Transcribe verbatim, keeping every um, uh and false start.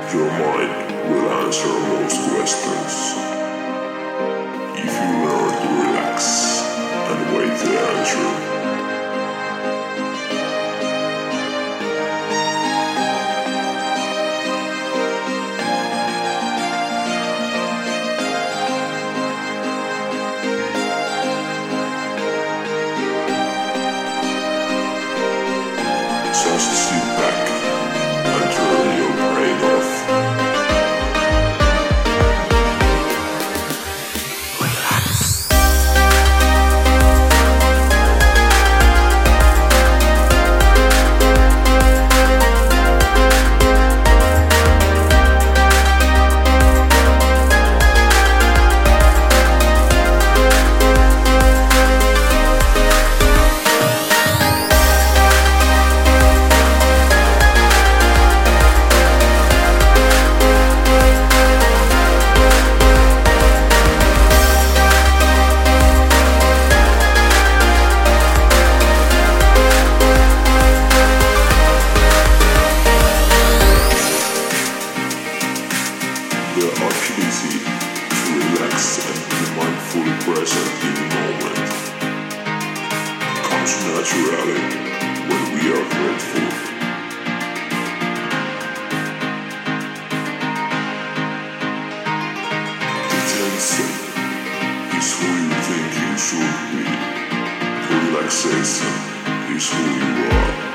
Your mind will answer most questions. If you learn to relax and wait the answer. Just sit back and turn your brain off. The ability to relax and be mindfully present in the moment comes naturally when we are grateful. The tension is who you think you should be. The relaxation is who you are.